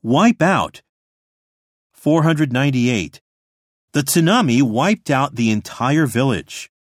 Wipe out. 498. The tsunami wiped out the entire village.